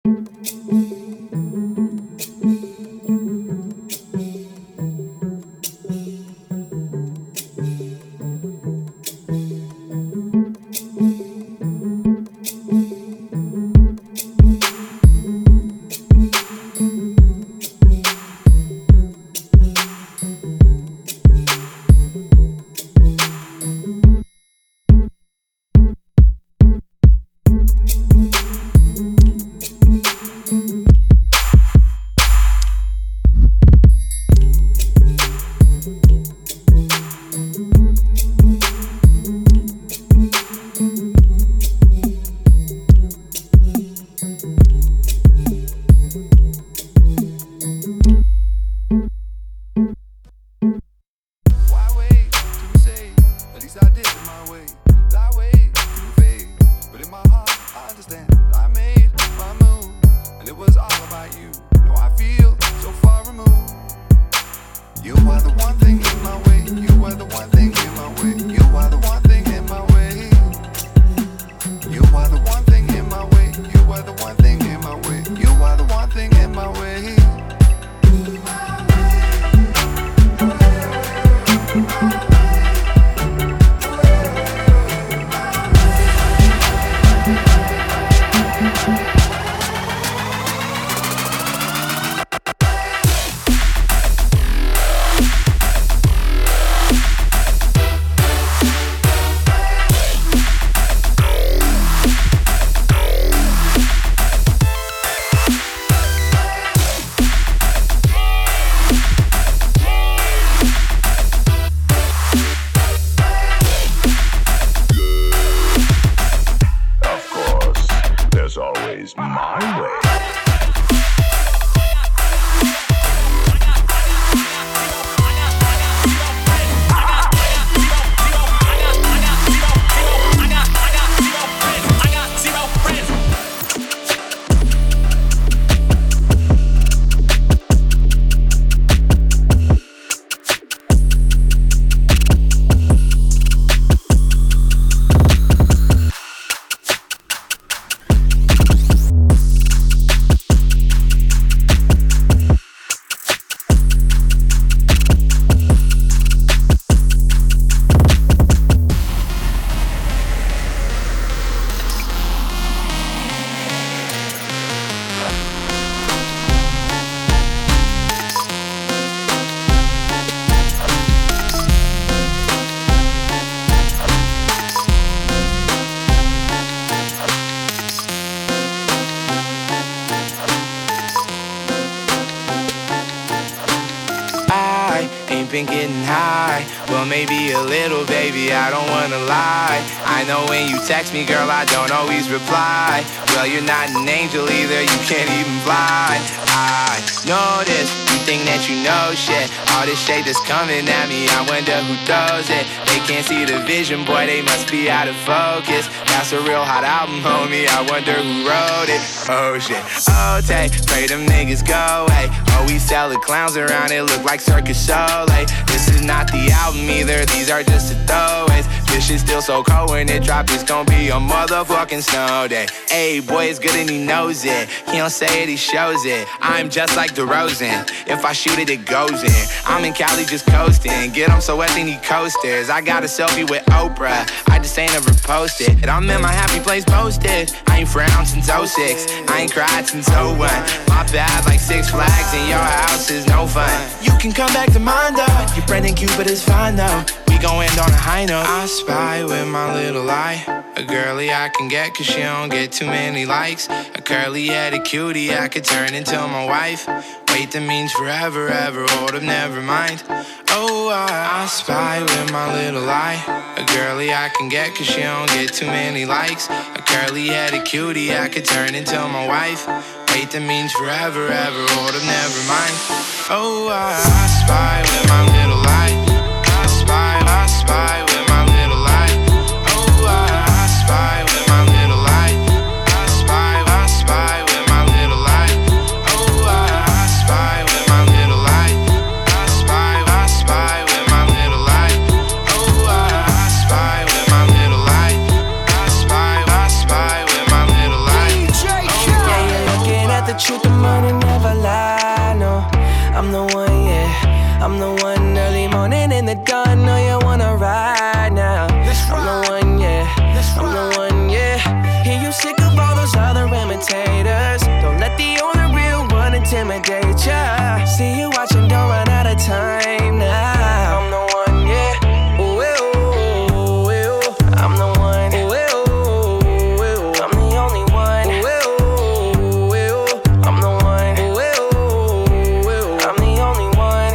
been getting high. Well, maybe a little, baby, I don't wanna lie. I know when you text me, girl, I don't always reply. Well, you're not an angel either, you can't even fly. I know this, you think that you know shit. All this shade that's coming at me, I wonder who throws it. They can't see the vision, boy, they must be out of focus. That's a real hot album, homie, I wonder who wrote it. Oh shit, oh take, pray them niggas go away. Oh, we sell the clowns around, it look like Circus Soleil. This is not the album either, these are just the throwaways. This shit's still so cold when it drop, it's gon' be a motherfucking snow day. Ayy, boy, it's good and he knows it. He don't say it, he shows it. I'm just like DeRozan, if I shoot it, it goes in. I'm in Cali just coasting, get him so wet they need coasters. I got a selfie with Oprah, I just ain't ever posted. I'm in my happy place posted, I ain't frowned since 06. I ain't cried since 01. My bad like Six Flags and your house is no fun. You can come back to mine though, your friend and Cupid is fine though. We gon' end on a high note. I spy with my little eye a girlie I can get cause she don't get too many likes. A curly-headed cutie I could turn into my wife. Wait, that means forever, ever, hold up, never mind. Oh, I spy with my little eye a girlie I can get cause she don't get too many likes. A curly-headed cutie I could turn into my wife. Wait, that means forever, ever, hold up, never mind. Oh, I spy with my little eye. I spy with my little eye. Oh, I spy with my little eye. I spy with my little eye. Oh, I spy with my little eye. I spy with my little eye. Oh, I spy with my little eye. I spy with my little eye. DJ Khaled. Yeah, you're looking truth, the money never lie, no. I'm the one, yeah. I'm the one early morning in the dawn. Know you wanna ride now. I'm the one, yeah. I'm the one, yeah. Hear you sick of all those other imitators. Don't let the only real one intimidate ya. See you watching, don't run out of time now. I'm the one, yeah. Ooh, ooh, ooh, ooh. I'm the one. Ooh, ooh, ooh. I'm the only one. Ooh, ooh, ooh. I'm the one. Ooh, ooh, ooh. I'm the only one.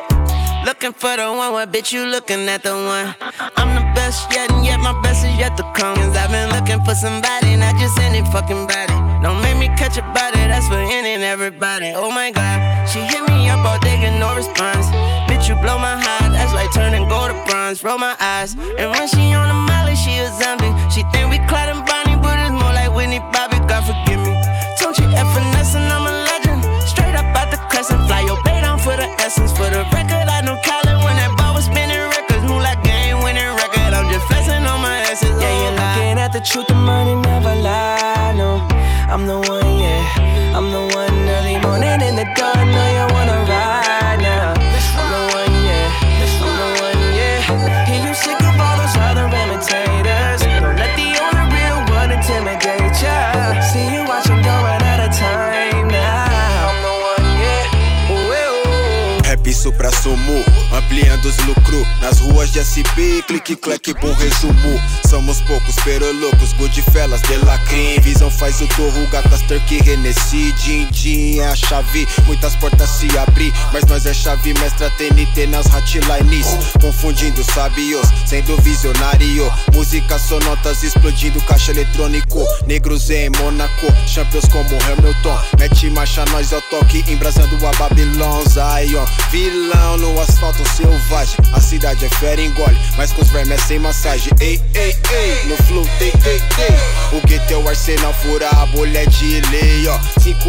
Looking for the one, what bitch you looking at the one? I'm the best yet, and yet my best is yet to come. Cause I've been looking for somebody, not just any fucking body. Don't make me catch a body, that's for any and everybody. Oh my god, she hit me up all day, get no response. Bitch, you blow my heart, that's like turning gold to bronze. Roll my eyes, and when she on the molly, she a zombie. She think we Clyde and Bonnie, but it's more like Whitney Bobby, God forgive me. Don't you F finesse and I'm a legend. Straight up out the crescent, fly your bait down for the essence. For the record, I know Colin when that ball was spinning records. Move like game winning record, I'm just flexing on my asses. Yeah, you're looking at the truth, the money never lie, no. I'm the one, yeah. I'm the one early morning in the dawn. Know you wanna ride now. I'm the one, yeah. I'm the one, yeah. Hear you sick of all those other imitators. Don't let the only real one intimidate ya. See you watching, don't run out of time now. I'm the one, yeah. Ooh, ooh. Rap supra-sumo, ampliando os lucros. Nas ruas de SP, clique, clack, bom resumo. Somos poucos, pero loucos, Goodfellas, de la crime. Visão faz o torro, gatas, turkey, Hennessy. Din-din é a chave, muitas portas se abrir. Mas nós é chave mestra TNT nas hotlines. Confundindo sabios, sendo visionário. Música sonotas explodindo, caixa eletrônico. Negros em Mônaco, champions como Hamilton. Mete marcha, nós é o toque, embrasando a Babylon. Zion, vilão no asfalto selvagem. A cidade é fera, engole, mas com os vermes é sem massagem. Ei, ei, ei, no flow, tei, tei, tei. O gueto é o arsenal, fura a bolha de lei, ó.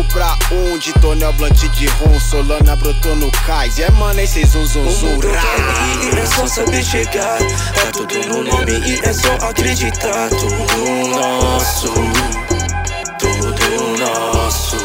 5-1 de tonel, blunt de rum. Solana brotou no cais, é mano, é cês zum zum zum. E é só saber chegar, tá tudo no nome e é só acreditar. Tudo nosso, tudo nosso.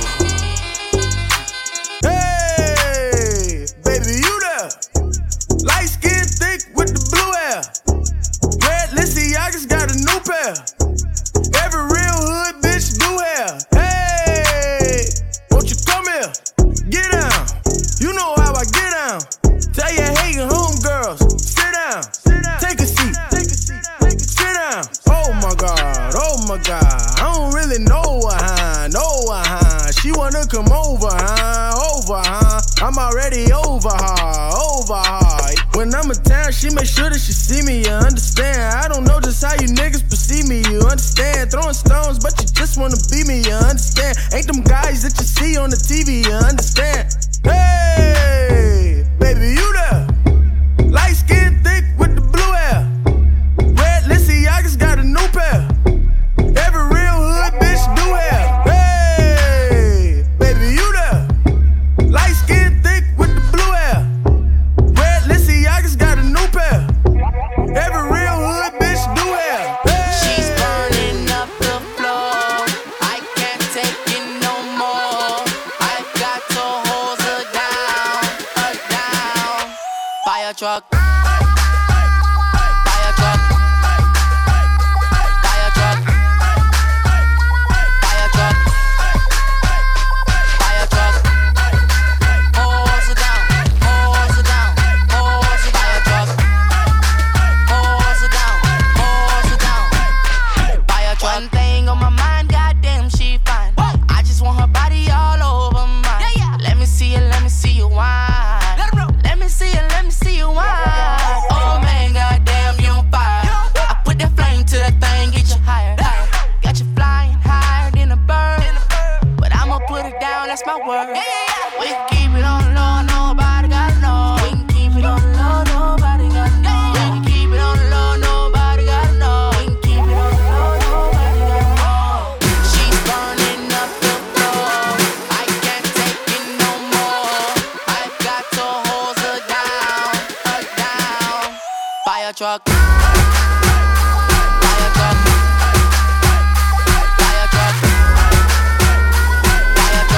Hey, baby, you there? Light skin thick with the blue hair. Red Balenciaga's got a new pair. Every real hood bitch do hair. Hey, won't you come here? Get down. You know how I get down. Tell your hating homegirls, sit down. Take a seat. Sit down. Oh my God, oh my God. I don't really know her, She wanna come over, huh? I'm already over her. When I'm in town, she make sure that she see me, you understand. I don't know just how you niggas perceive me, you understand. Throwing stones, but you just wanna be me, you understand. Ain't them guys that you see on the TV, you understand. Hey, baby, you there? Light skin thick with the blue hair. Red Balenciaga's got a new pair. Every real hood bitch do hair. Hey, baby, you there? Light skin thick with the blue hair. Red Balenciaga's got a new pair. Every real hood bitch do hair. Hey. She's burning up the floor. I can't take it no more. I got to hold her down. Fire truck. That's my word. We can keep it on the low, nobody gotta know. We can keep it on the low, nobody gotta know. We can keep it on the low, nobody gotta know. We can keep it on the low, nobody gotta know. She's burning up the floor. I can't take it no more. I've got to hold her down. Fire truck. Fire truck. Fire truck. Fire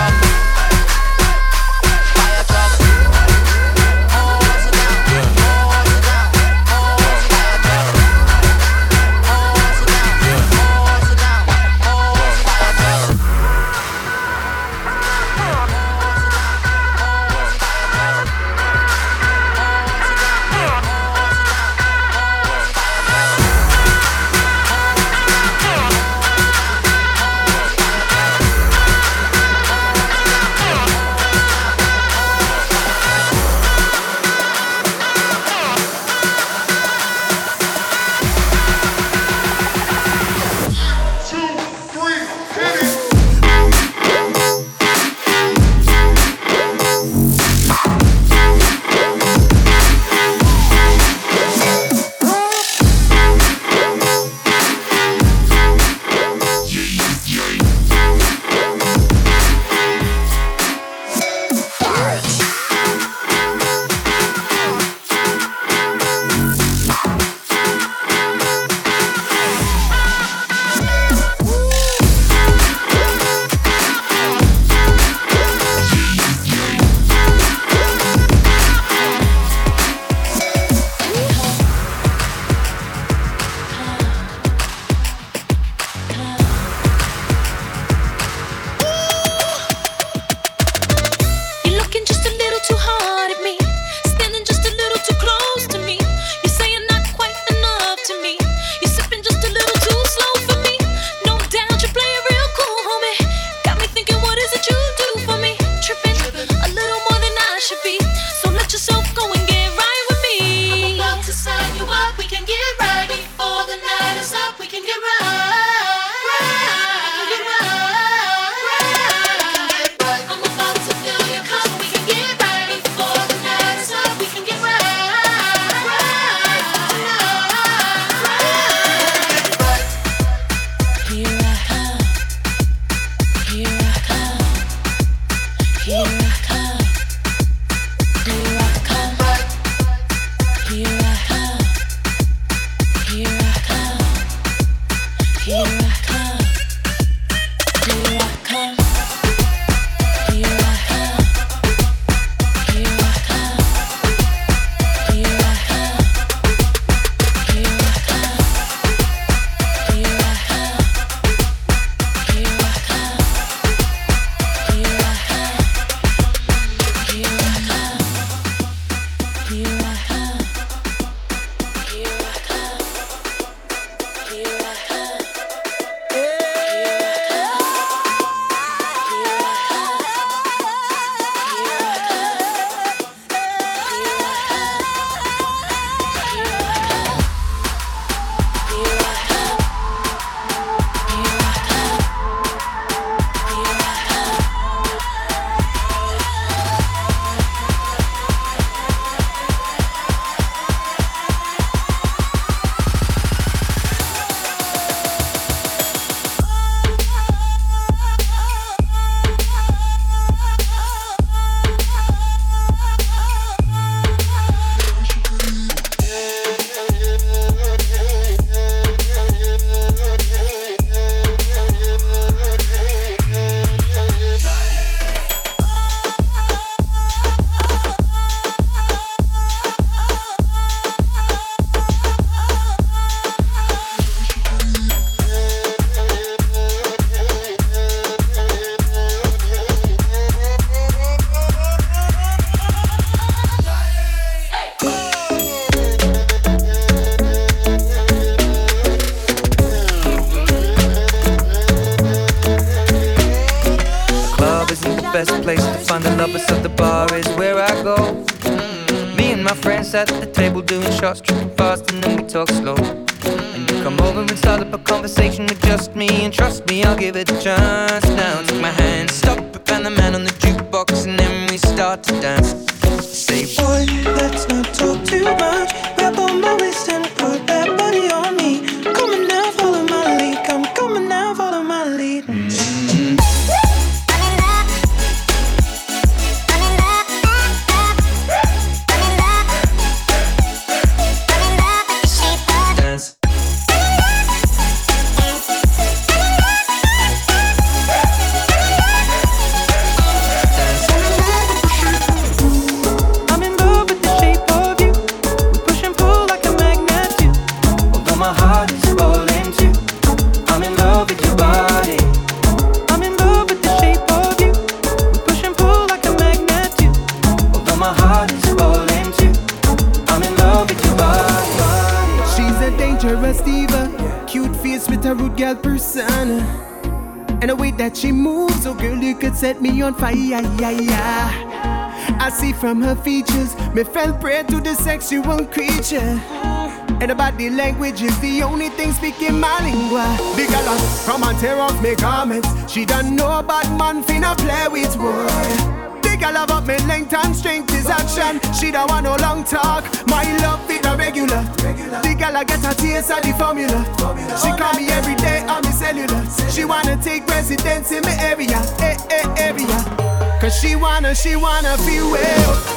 At the table doing shots, tripping fast, and then we talk slow. And you come over and start up a conversation with just me, and trust me, I'll give it a chance. Now take my hand, stop it, and the man on the jukebox, and then we start to dance. Say, boy, let's not talk too much. Grab on my waist and put that body on me. Come on now, follow my lead. Come on now, follow my lead. Persona and the way that she moves, oh girl, you could set me on fire. I see from her features, me fell prey to the sexual creature, and the body language is the only thing speaking my lingua. Big girl, come and tear off me garments. She don't know about man finna play with wood. I love up me length and strength is action. She don't want no long talk. My love fit a regular. The girl I get a taste of the formula. She call me every day on me cellular. She wanna take residence in my area, area. Cause she wanna feel well.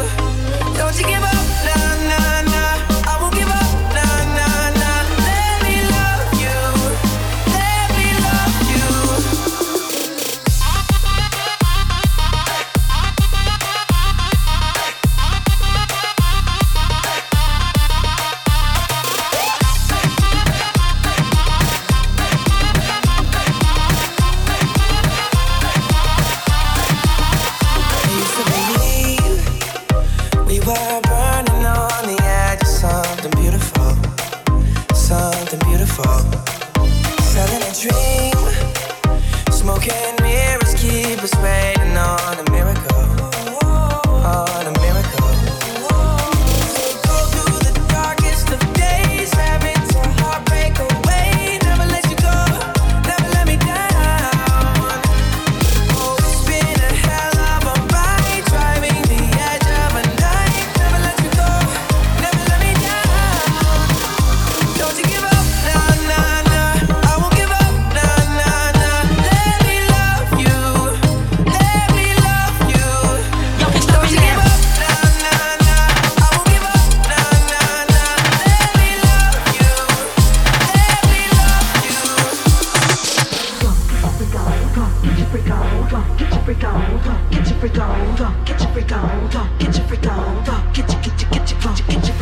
Don't you give up, nah, nah, nah. I won't give up, nah, nah, nah. Let me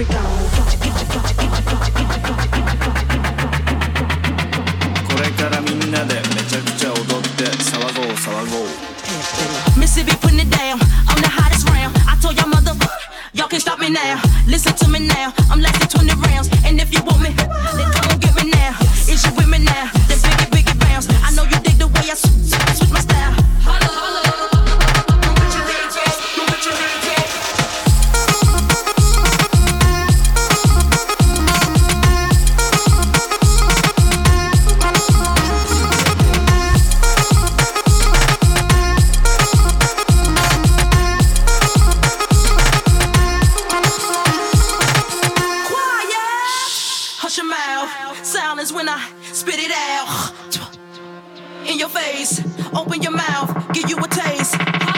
これからみんなでめちゃくちゃ踊って騒ごう騒ごう Mississippi putting it down, I'm the hottest round. I told y'all y'all can't stop me now. Listen to me now, I'm lasting 20 rounds. And if you want me, then come on get me now. Is you with me now? Then biggie bounce. I know you dig the way I switch my style. Holla, holla. Put your hands up, put your hands up. Hush your mouth. Silence when I spit it out. In your face, open your mouth, give you a taste.